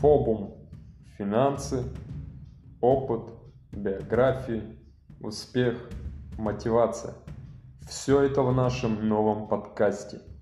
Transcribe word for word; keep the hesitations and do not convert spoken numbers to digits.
Фобум, финансы, опыт, биографии, успех, мотивация. Все это в нашем новом подкасте.